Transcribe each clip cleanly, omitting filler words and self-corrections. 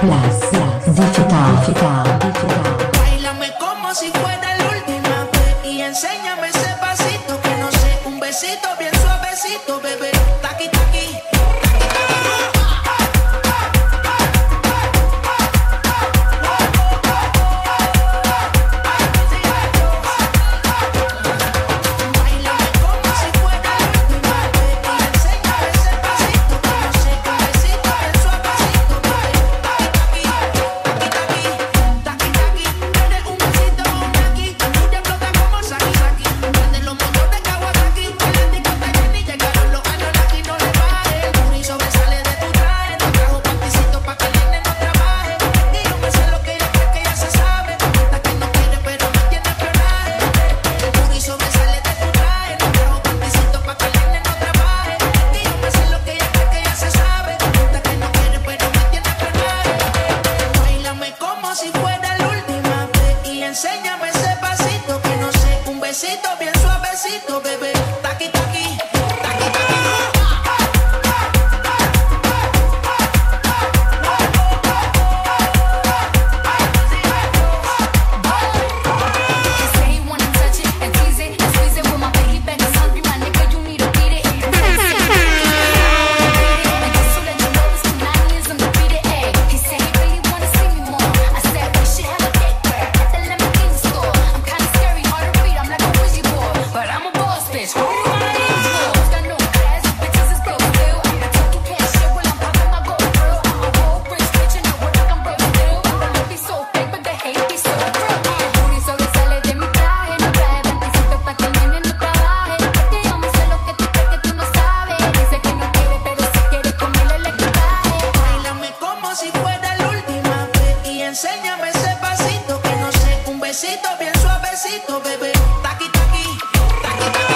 Báilame como si fuera la última vez y enséñame ese pasito que no sé, un besito bien suavecito, bebé. Taqui, taqui. Enséñame ese pasito que no sé, un besito bien suavecito, bebé. Taqui, taqui, taqui, taqui. Enséñame ese pasito que no sé, un besito bien suavecito, bebé. Taqui, taqui, taqui, taqui.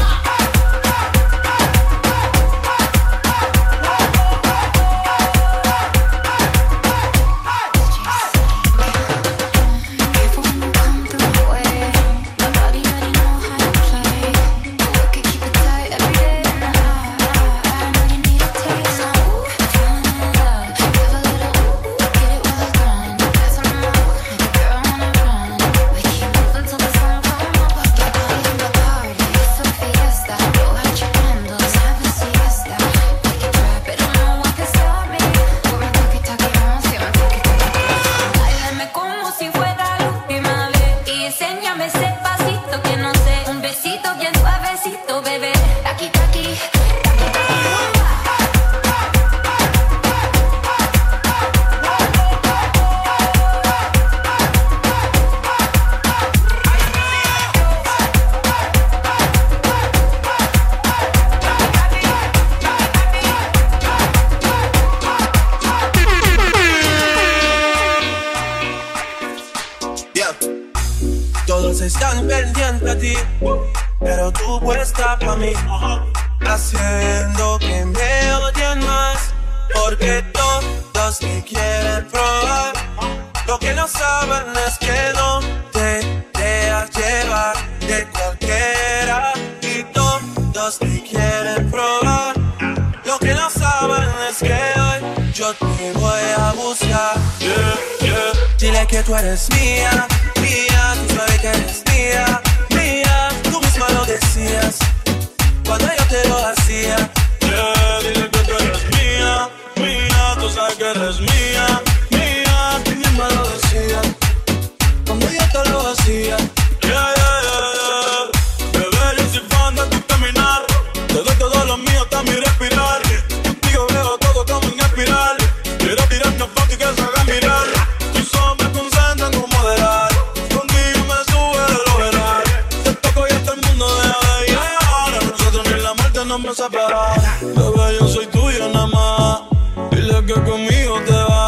Todos están pendientes a ti, pero tú puesta pa' mí, haciendo que me odien más, porque todos me quieren probar. Lo que no saben es que no te dejas llevar de cualquiera, y todos me quieren probar. Lo que no saben es que hoy yo te voy a buscar. Yeah, yeah. Dile que tú eres mía, mía, tú sabes que eres mía, mía. Tú misma lo decías cuando yo te lo hacía. Yeah, dile que tú eres mía, mía, tú sabes que eres mía, mía. Tú misma lo decías cuando yo te lo hacía. Yeah, yeah, yeah, yeah. Bebé, yo soy fan de tu caminar. Te doy todo lo mío hasta mi respirar. Contigo veo todo como en espiral. Quiero tirarme foto y que se haga mirar. Tus ojos me concentran como moderar. Contigo me sube de lo veral. Te toco y hasta el mundo deja de llegar. Nosotros ni la muerte nos va a separar. Bebé, yo soy tuyo nada más. Dile que conmigo te vas.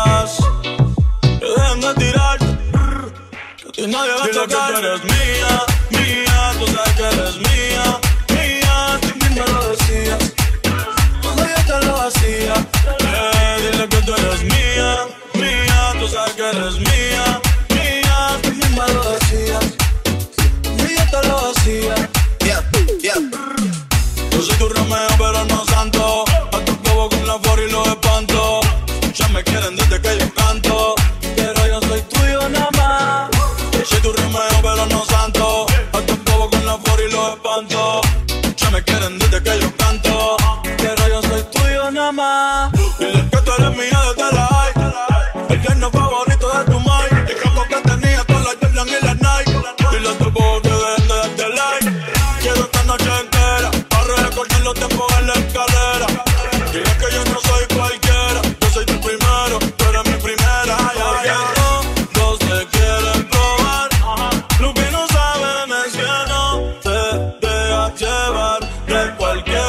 cama. Dile que tú eres mía desde la high. El viernes favorito de tu mind. El campo que tenía con la Jordan y la Nike. Dile a tu bobo que dejen de darte like. Quiero esta noche entera para recordar los tiempos en la escalera. Dile que yo no soy cualquiera. Yo soy tu primero, tú eres mi primera. Todos te quieren probar. Lo que no saben es que no te dejas llevar de cualquiera.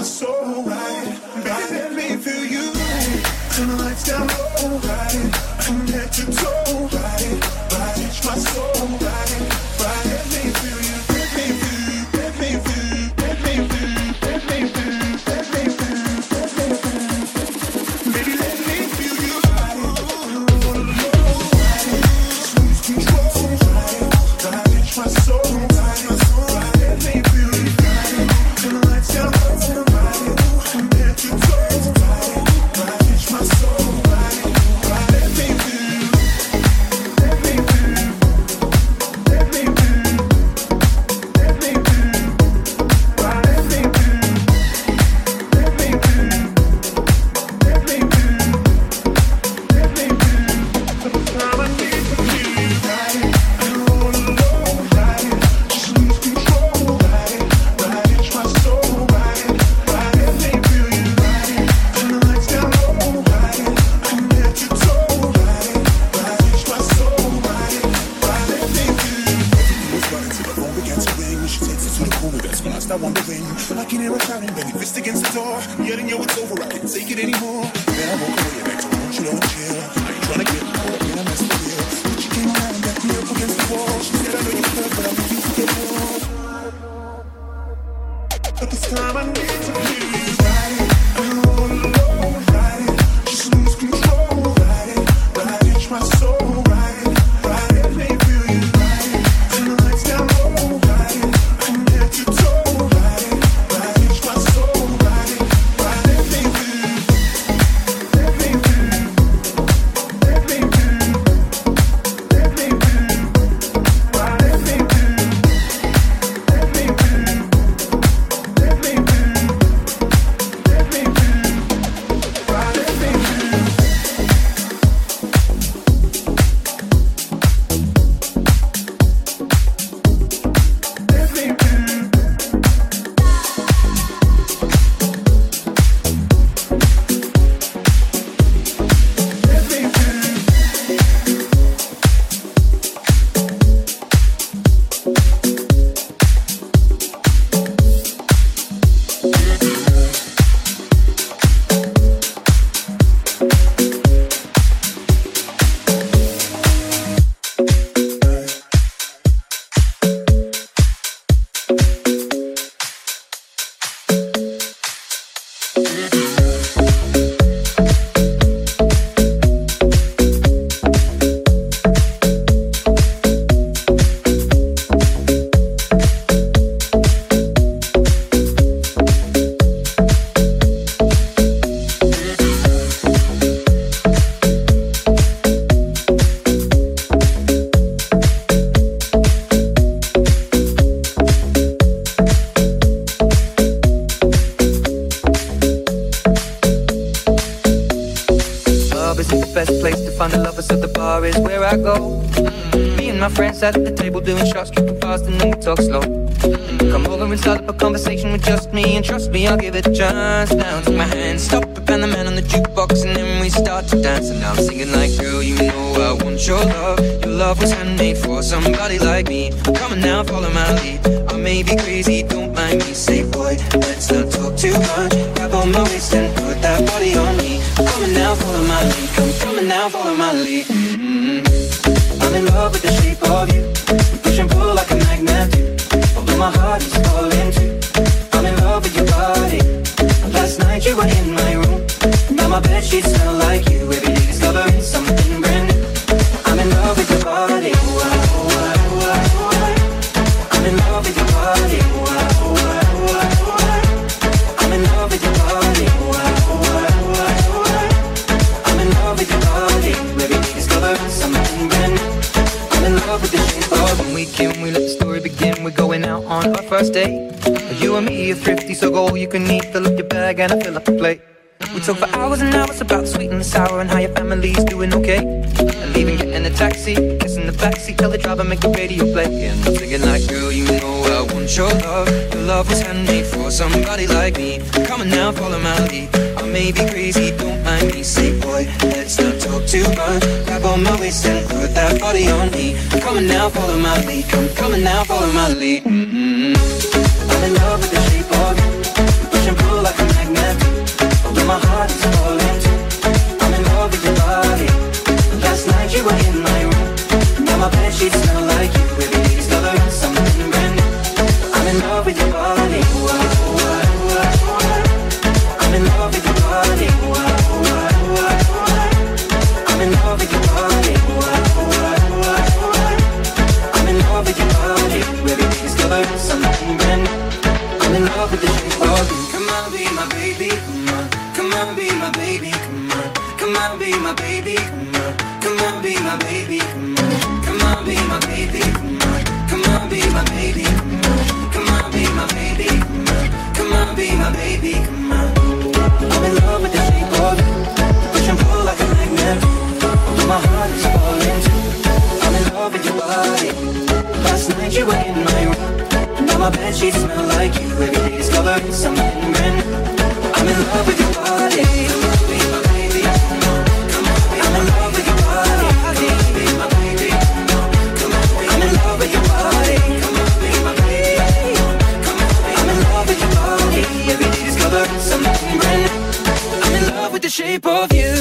my soul right. Baby, let me feel you right. Turn the lights down low right. From head to toe right. Touch my soul right. Let me feel you. Let me feel you. Let me feel you. Let me feel you. Let me feel you. Let me feel you. Let me feel you. Baby, let me feel you right. Lose control right. Touch my soul right. Let me feel you right. Turn the lights down low right. From head to toe right. Touch my soul right. Let me feel you. Let me feel you. Let me feel you. Let me feel you. Let me feel you. Let me feel you. Let me feel you. Let me feel you. Sometimes I need to feel you right. And all alone right. Just lose control right. Touch my soul right. Let me feel you right. Turn the lights down low right. From head to toe right. Touch my soul right. Let me feel you. Was running till the phone began to ring. She takes it to the corner, that's when I start wondering. I can hear her shouting, banging fist against the door, yelling, yo, it's over, I can't take it anymore. Then I walk away back to home, she don't chill. I ain't trying to get caught up in a mess for real. But she came around and backed me up against the wall. She said, I know you're hurt, but I refuse to get more. But this time I need to feel you right. I'm all alone right. Just lose control right. Touch my soul right. Let me feel you right. Turn the lights down low right. From head to toe right. Touch my soul right. Let me feel you. Let me feel you. Let me feel you. Let me feel you. Let me feel you. Let me feel you. Let me feel you. Let me feel you. At the table doing shots, tripping fast, and then we talk slow. Come over and start up a conversation with just me, and trust me, I'll give it a chance. Now take my hand, stop it, and the man on the jukebox, and then we start to dance. And now I'm singing like, girl, you know I want your love. Your love was handmade for somebody like me. Come on now, follow my lead. I may be crazy, don't mind me. Say, boy, let's not talk too much. Grab on my waist and put that body on me. Come on now, follow my lead. Come on now, follow my lead. I'm in love with the shape of you. We push and pull like a magnet do. Although my heart is falling too. I'm in love with your body. Last night you were in my room. Now my bedsheets smell like you. Every day discovering something brand new. I'm in love with your body. I'm in love with your body. I'm in love with your body. I'm in love with your body. Every day discovering something brand new. I'm in love with the shape of when we can, we let the story begin. We're going out on our first date. You and me are thrifty, so go all you can eat. Fill up your bag and I fill up the plate. We talk for hours and hours about the sweet and the sour and how your family's doing okay. And leaving, getting a taxi, kissing the backseat, tell the driver make the radio play. And I'm singing like, girl, you know I want your love. Your love was handmade for somebody like me. Come on now, follow my lead. I may be crazy, don't mind me. Say, boy, let's not talk too much. Grab on my waist and put that body on me. Come on now, follow my lead. Come on now, follow my lead. I'm in love with the shape of you. Push and pull like although my heart is falling too. I'm in love with your body. Last night you were in my room. Now my bedsheets smell like you. Every day discovering something brand new. I'm in love with your body. I'm in love with your body. I'm in love with your body. I'm in love with your body. Every day discovering something brand new. I'm in love with the shape of you. Come on, be my baby. Come on, come on, be my baby. Come on, come on, be my baby. Come on, come on, be my baby. Come on, come on, be my baby. Come on, come on, be my baby. Come on, come on, be my baby. Come on, come on, be my baby. Come on. I'm in love with the shape of you. Push and pull like a magnet. Although my heart is falling too. I'm in love with your body. Last night you were in my room. Now my bedsheets smell like you. Every day discovering something brand new. I'm in love with your body. Come on, be my baby. Come on, come on, I'm in love with your body. Come on, be my baby. Come on, I'm in love with your body. Come on, be my baby. Come on, I'm in love with your body. Every day discovering something brand new. I'm in love with the shape of you.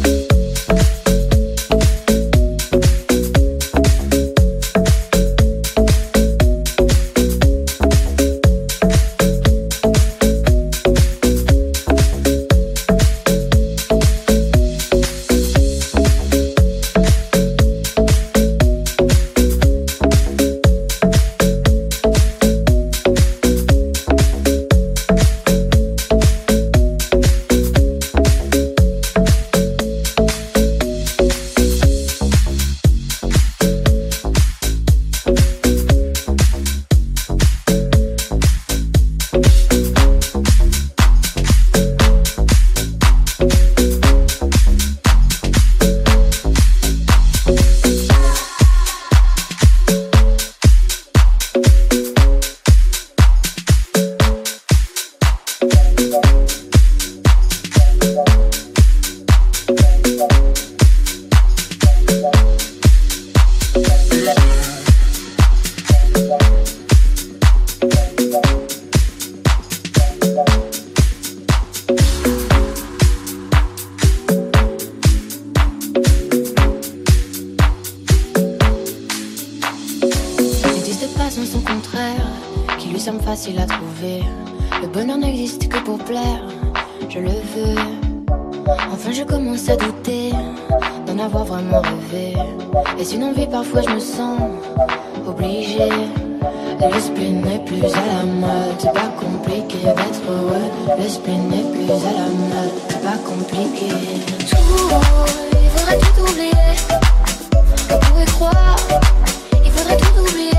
Facile à trouver. Le bonheur n'existe que pour plaire. Je le veux. Enfin je commence à douter d'en avoir vraiment rêvé. Est-ce une envie? Parfois je me sens obligée. Le spleen n'est plus à la mode. C'est pas compliqué d'être heureux. Le spleen n'est plus à la mode. C'est pas compliqué. Tout, il faudrait tout oublier. On pourrait croire, il faudrait tout oublier.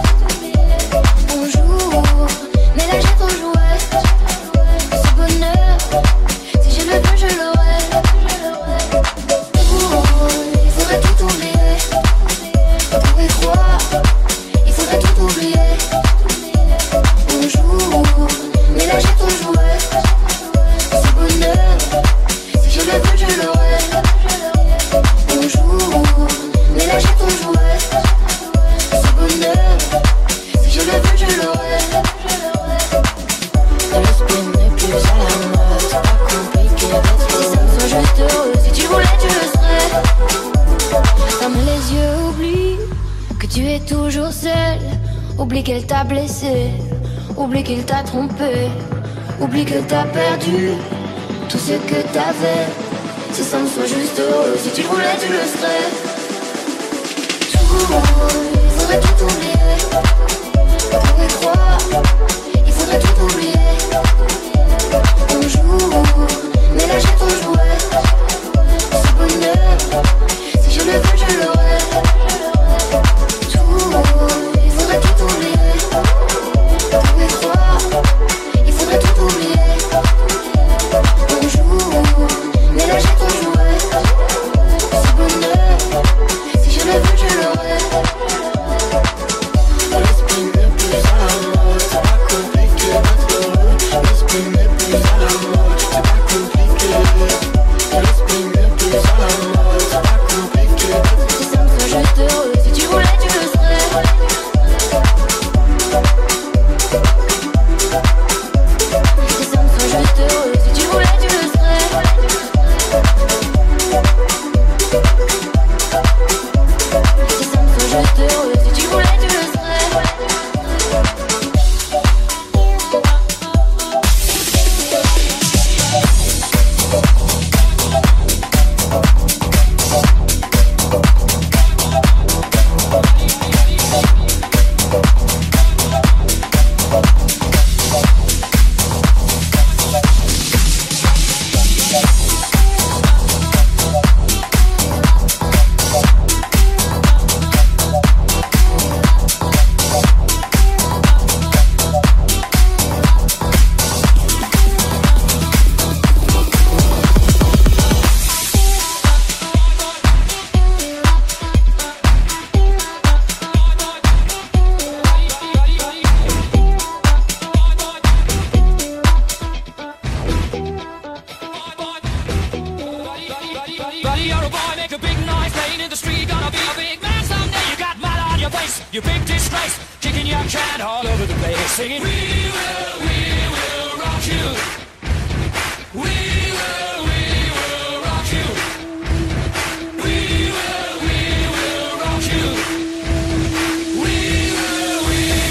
Mais là j'ai trop joué. Ce bonheur, si je le veux je l'aurai. Il faudrait tout oublier. On pourrait croire, il faudrait tout oublier. On joue, mais là j'ai trop joué. Ce bonheur, si je le veux je l'aurai. On joue, mais là j'ai trop joué. Ce bonheur, si je le veux je l'aurai. Le spleen n'est plus à la mode. C'est pas compliqué d'être heureux. Sois juste heureux, si tu voulais tu le serais. Ferme les yeux, oublie que tu es toujours seul. Oublie qu'elle t'a blessé. Oublie qu'il t'a trompé. Oublie que t'as perdu tout ce que t'avais. C'est simple, sois juste heureux. Si tu voulais tu le serais. Tout, il faudrait tout oublier. On pourrait croire, il faudrait tout oublier. On joue, mais là j'ai trop joué. Ce bonheur, si je le veux je l'aurai. Tout, il faudrait tout oublier. On pourrait croire, il faudrait tout oublier. On joue, mais là j'ai trop joué. Ce bonheur, si je le veux je l'aurai. face, you big disgrace, kicking your can all over the place, singing, we will rock you. We will rock you. We will rock you. We will rock you.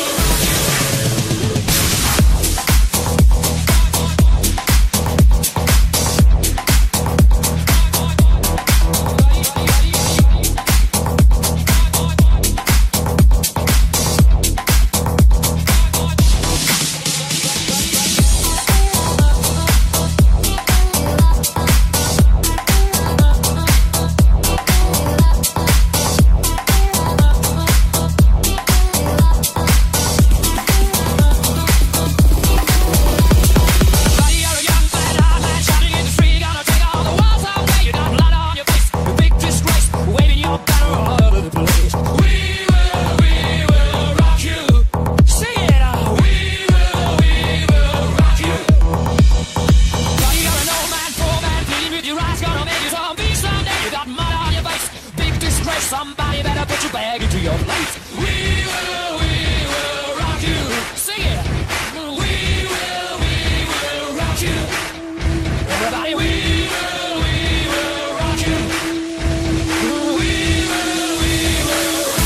Somebody better put your bag into your place. We will rock you. Sing it. We will rock you. Everybody, we will rock you. We will rock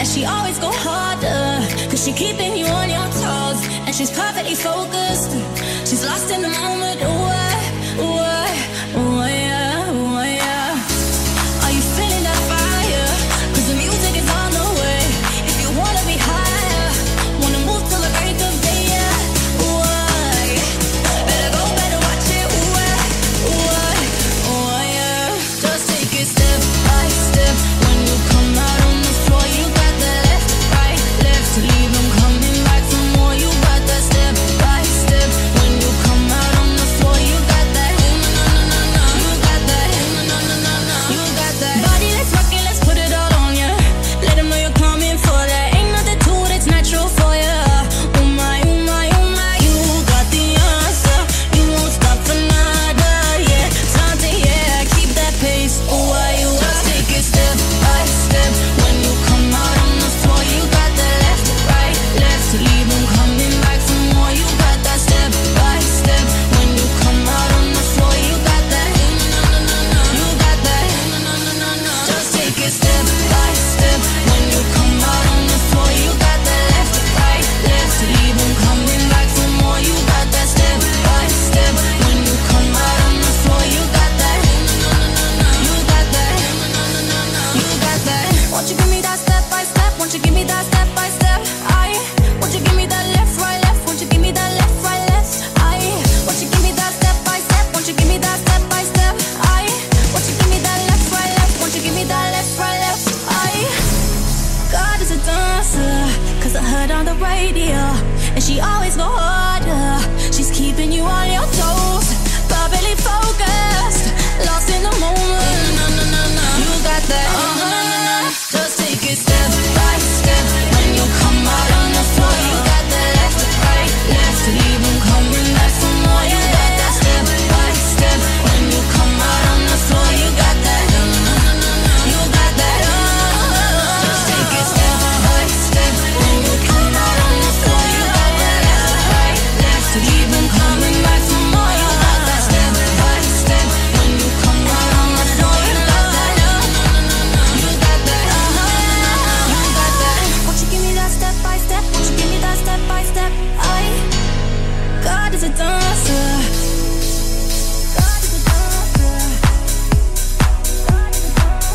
And she always go harder, cause she keeping you on your toes. And she's perfectly focused, she's lost in the moment. Yeah. Are you feeling that fire? Cause the music is on the way. If you wanna be higher, wanna move till the break of day, yeah. Better go, better watch it, yeah. Just take it step by step. When you come out on the floor, you got the left, right, left. Leave them coming back for more. You got that step by step. When you come out on the floor, you got that. You got that. You got that. Body, let's rock it, let's put it all on ya. Let them know you're coming for that. Ain't nothing to it, it's natural for ya. Oh my, oh my, oh my. You got the answer. You won't stop for nada, yeah. Something, yeah, keep that pace. Oh, why you just take it step by step. When you come out on the floor, you got the left, right, left. Leave them coming back for more. You got that step by step. When you come out on the floor, you got that. You got that. Just take it step by step. When you come out on the floor, you got the left, right, left. Leave them coming back for more. You got that step by step. When you come out on the floor, you got that. You got that. You got that. Won't you give me that step by step? Won't you give me that step by step? Won't you give me that left, right, left? Won't you give me that left, right, left? Won't you give me that step by step? Won't you give me that step by step? Won't you give me that left, right, left? Won't you give me that left, right, left? God is a dancer, cause I heard on the radio. And she always go harder, she's keeping you on your toes. Perfectly focused, lost in the moment. You got that, just take it step by step. When you come out on the floor, you got the left, right, left. Leave them coming back for more. You got that step by step. When you come out on the floor, you got that. You got that. Just take it step by step. When you come out on the floor, you got that left, right, left. Leave them coming back for more. You got that step by step. When you come out on the floor, you got that. You got that. You got that. Won't you give me that step by step? Won't you give me that step by step? God is a dancer. God is a dancer. God is a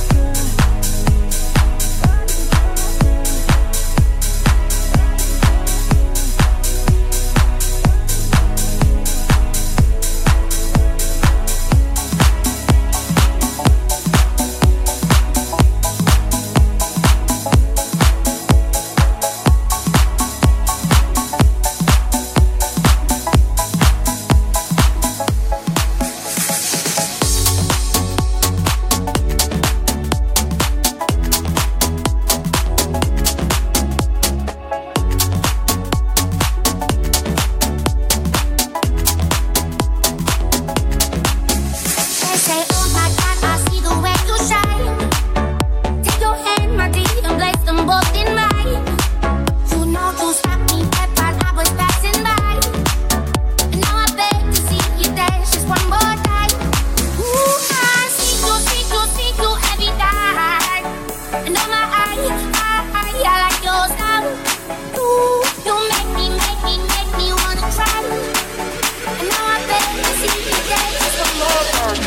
They say, oh my God, I see the way you shine. Take your hand, my dear, and place them both in mine. You know you stopped me dead while I was passing by. And now I beg to see you dance just one more time. Ooh, I see you every night. And oh my, I like your style. Ooh, you make me wanna try. And now I beg to see you dance just one more time.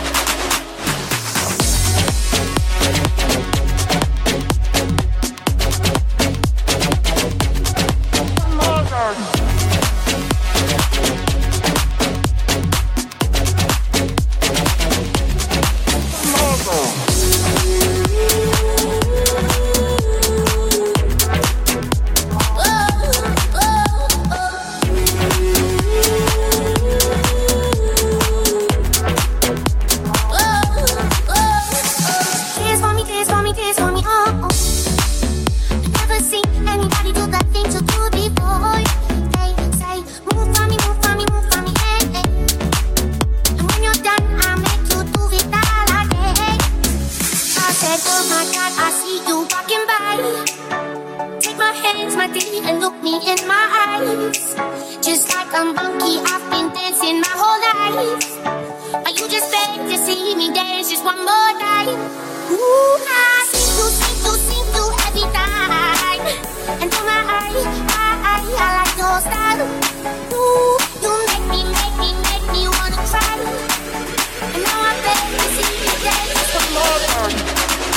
One more time. Ooh, I see you every time. And to my eye, I like your style. Ooh, you make me wanna cry. And now I beg to see you dance some more.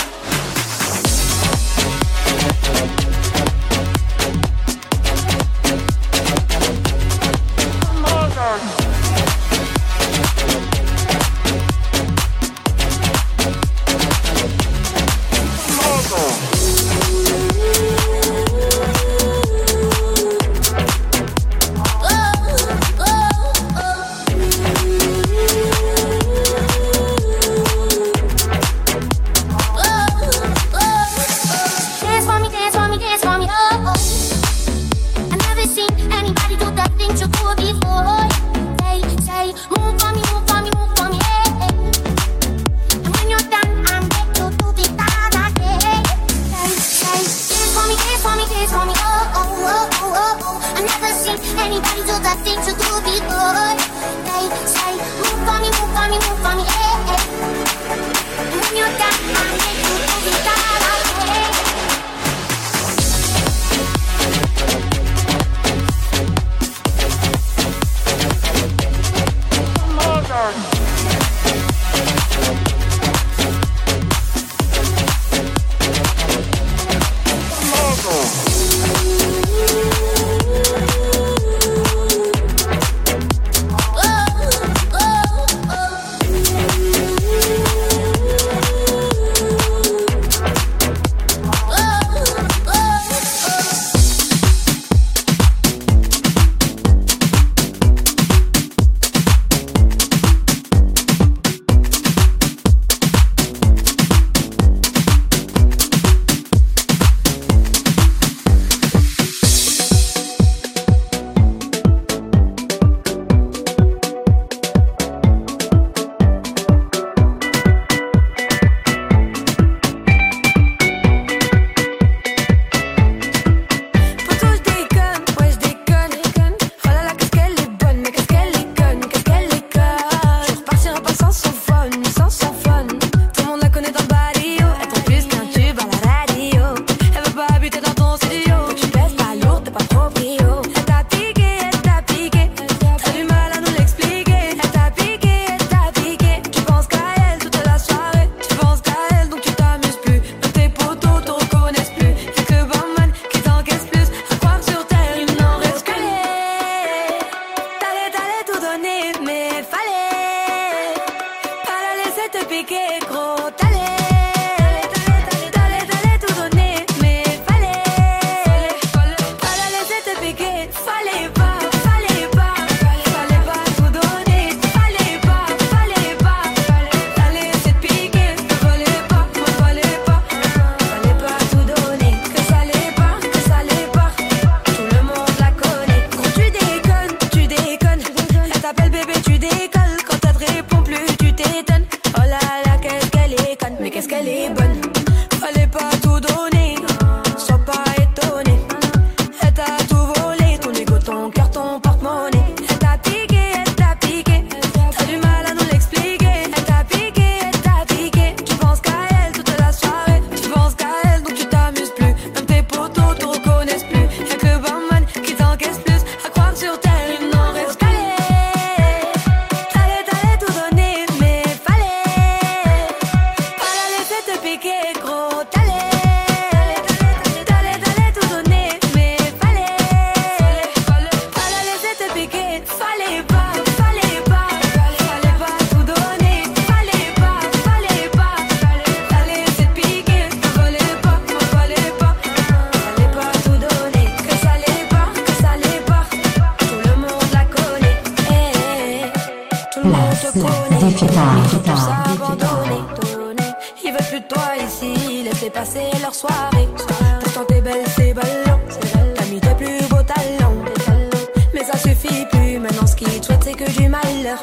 Ils veulent plus de toi ici, laissez passer leur soirée. Pourtant t'es belle, c'est ballon. T'as mis tes plus beaux talents. Mais ça suffit plus, maintenant ce qu'ils te souhaitent c'est que du malheur.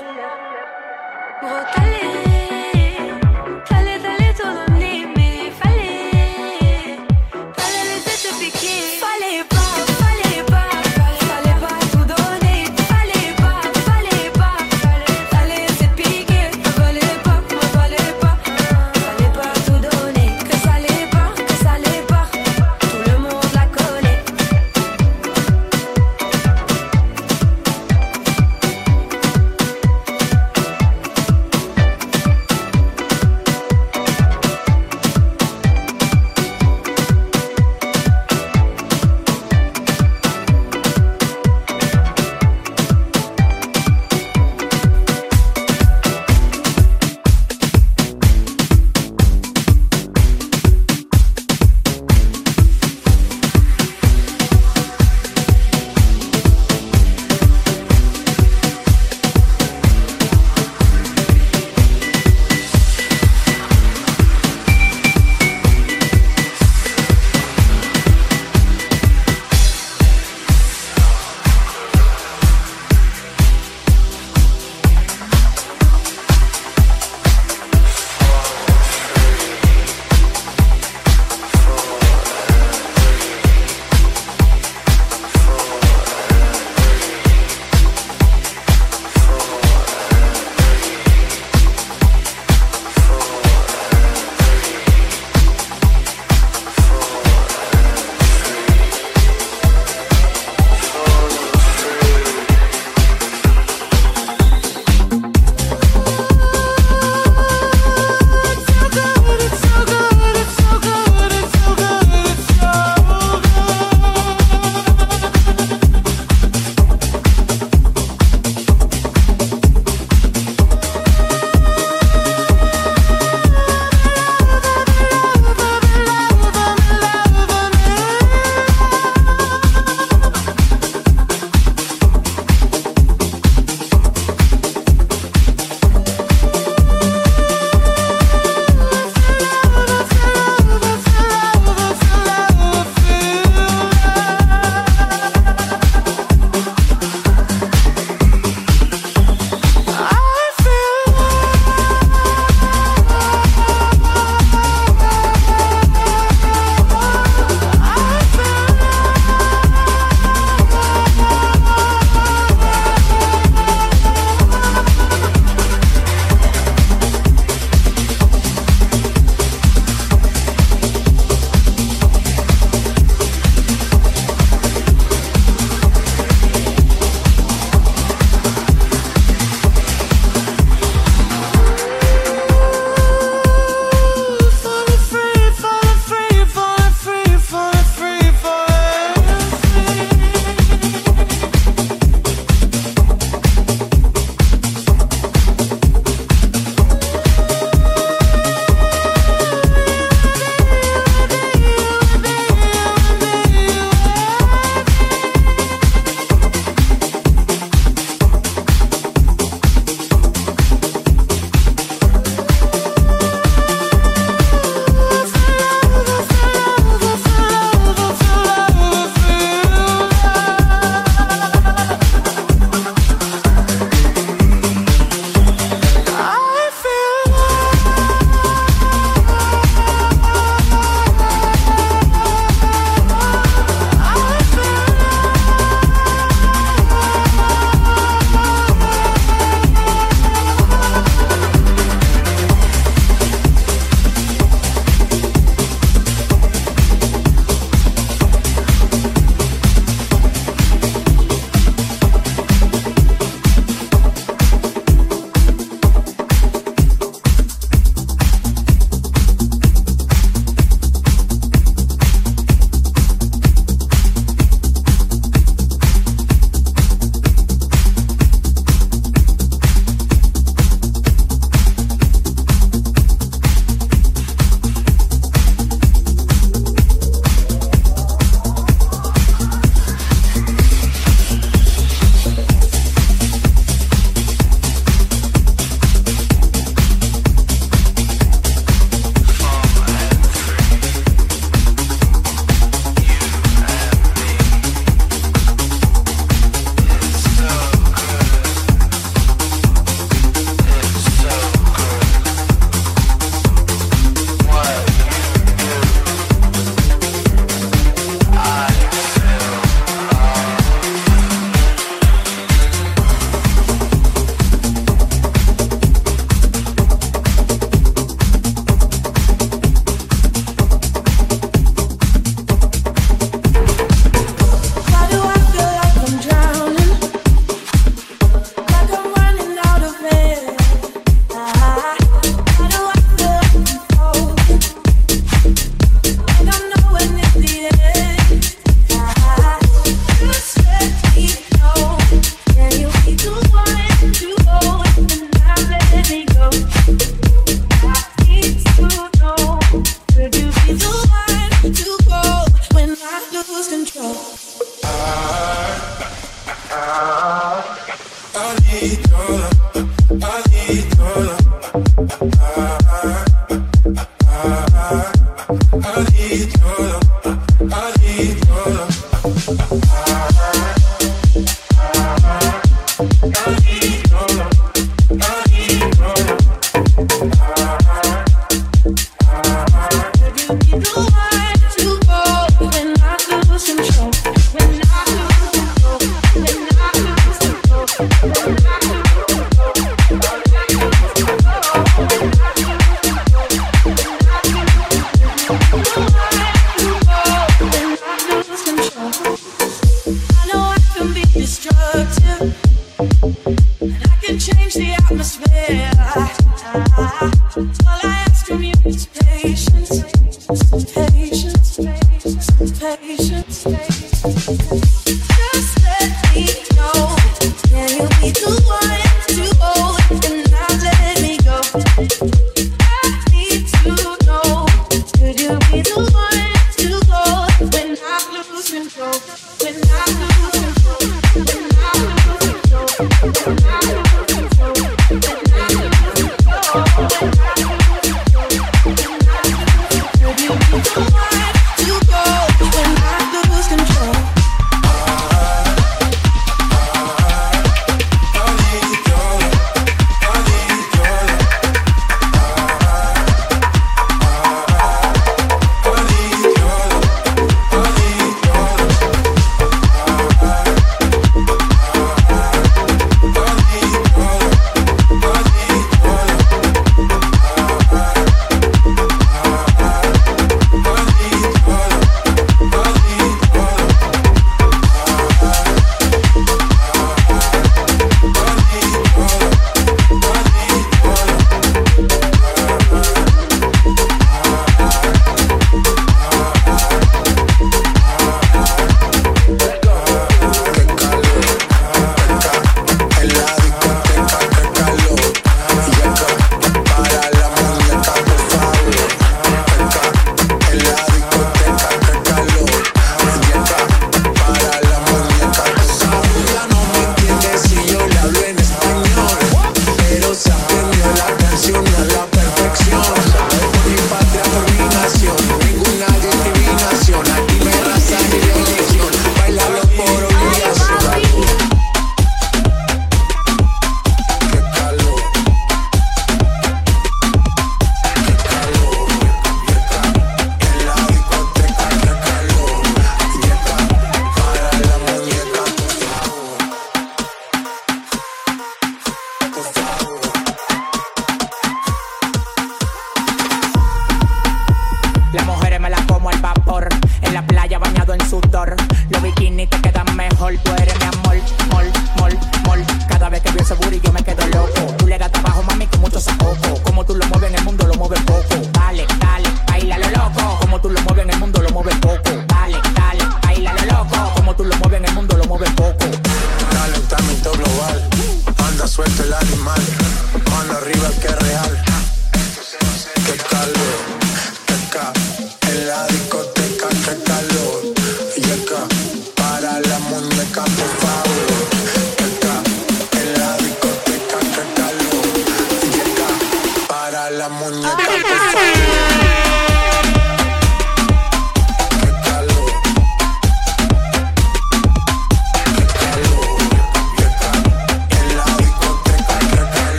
Gros t'allais tout donner, mais fallait laisser te piquer. Fallait pas tout donner. Fallait pas laisser te piquer. Fallait pas tout donner. Que ça l'est pas, tout le monde la connaît.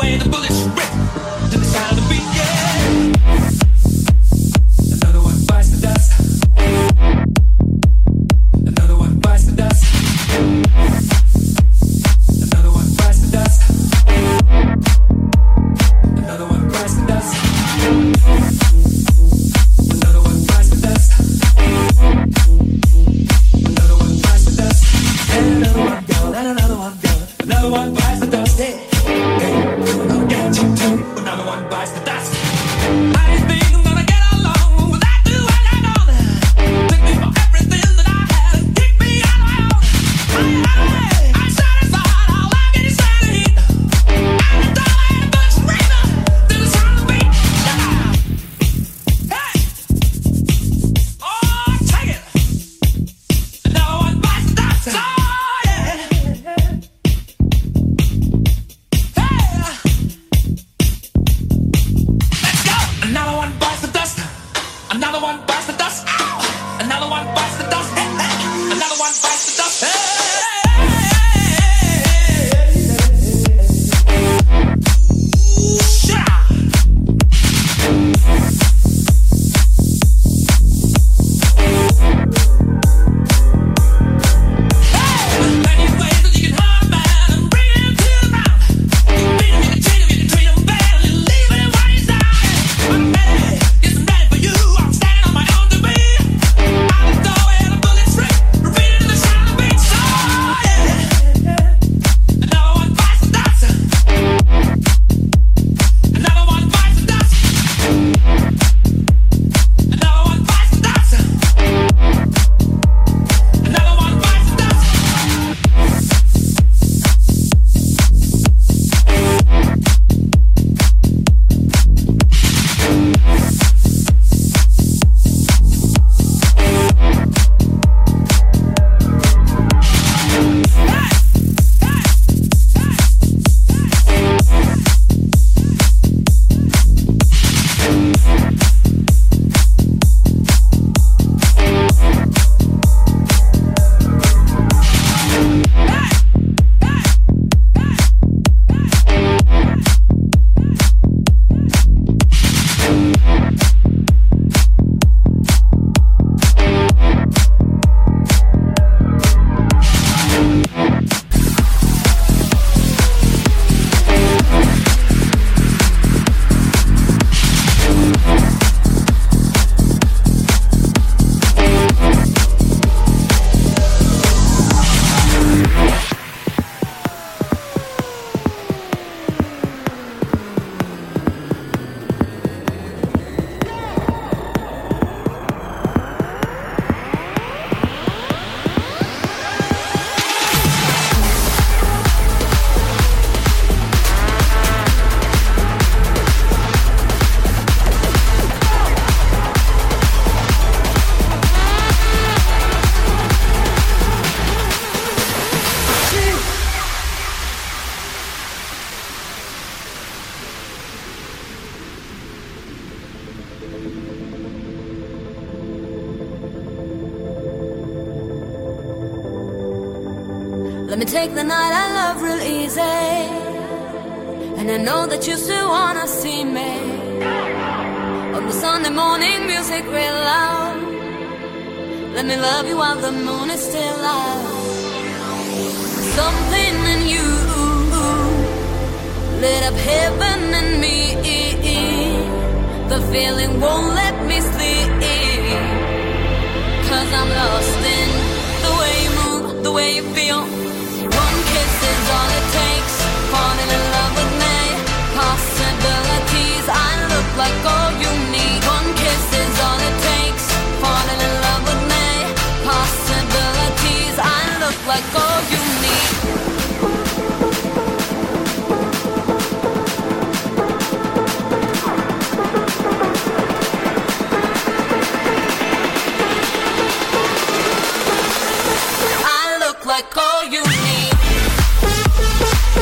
way the bullets rip to the sound of the beat, yeah. Another one bites the dust. Another one bites the dust. Another one bites the dust. Another one bites the dust. Another one bites the dust. Another one bites the dust. And another one gone, and another one gone. Another one bites the dust. Hey, hey, I'll get you too. Another one bites the dust. I just think I'm gonna get along without you and I know that. Took me for everything that I had and kicked me out of my own. I'm satisfied, all I get is sanity. I'm a dollar and a bunch of reason to the sound of the beat. Hey, oh, take it. Another one bites the dust. Oh, yeah. Let's go! Another one bites the dust. Another one bites the dust. Ow! Another one bites the dust. Hey, hey. Another one bites the dust. Hey, many ways that you can harm a man and bring him to the ground. You can beat him, you can treat him, you can treat him bad, and you leave him while he's down. I'm ready, yes, I'm ready for you. I'm standing on my own to be. Out the door where the bullets rip, repeating to the sound of the beat. So yeah, another one bites the dust. Another one bites the dust. Another one bites the dust. Another one bites the dust. Let me take the night I love real easy. And I know that you still wanna see me. On the Sunday morning, music real loud. Let me love you while the moon is still out. Something in you lit up heaven in me. The feeling won't let me sleep. 'Cause I'm lost in the way you move, the way you feel. One kiss is all it takes. Falling in love with me. Possibilities, I look like all you need. One kiss is all it takes. Falling in love with me. Possibilities, I look like all you need. I look like all you need.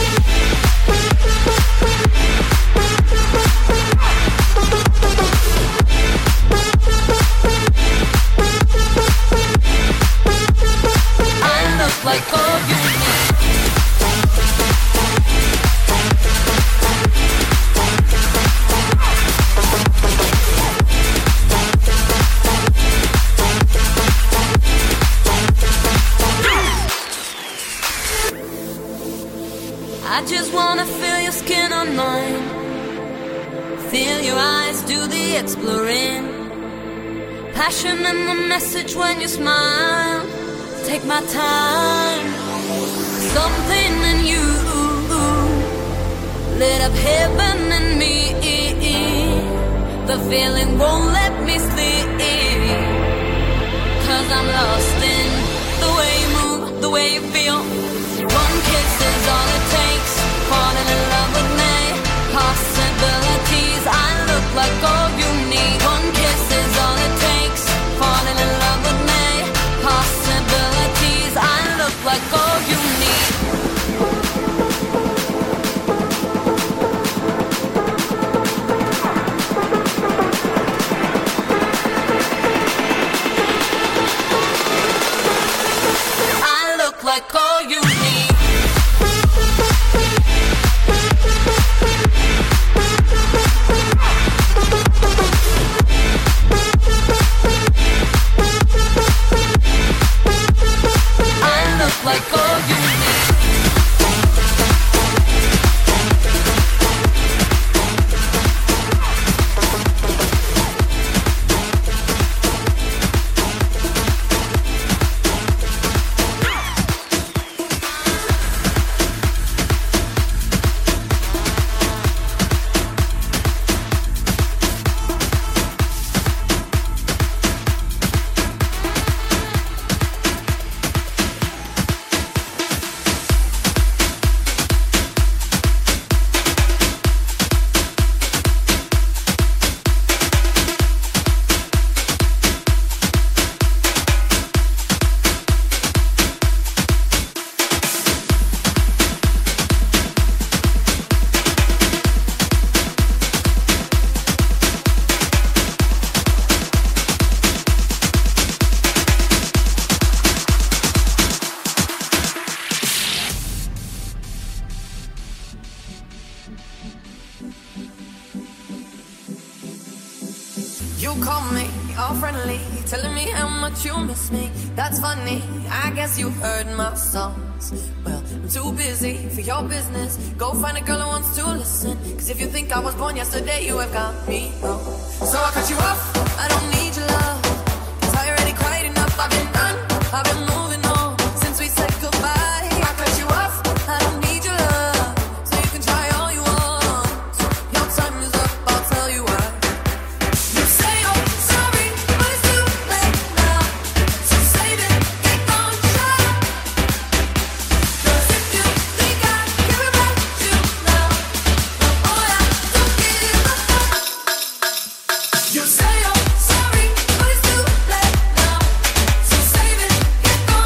I just wanna feel your skin on mine. Feel your eyes do the exploring. Passion in the message when you smile. Take my time. Something in you lit up heaven in me. The feeling won't let me sleep. 'Cause I'm lost in the way you move, the way you feel. One kiss is all it takes. Falling in love with me. Possibilities, I look like all you need. One kiss is all it takes. Falling in love with me. Possibilities, I look like all you need. Like all you need. I look like all you need. You call me all friendly, telling me how much you miss me. That's funny, I guess you heard my songs. Well, I'm too busy for your business. Go find a girl who wants to listen. 'Cause if you think I was born yesterday, you have got me wrong. So I cut you off, I don't need your love. 'Cause I already cried enough, I've been done, I've been moving on since we said goodbye. I cut you off, I don't need your love. So you can try all you want. Your time is up, I'll tell you why. You say you're sorry, but it's too late now. So save it, get gone, shut up. 'Cause if you think I care about you now, then boy, I don't give a fuck. You say you're sorry, but it's too late now. So save it, get gone.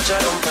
escucharon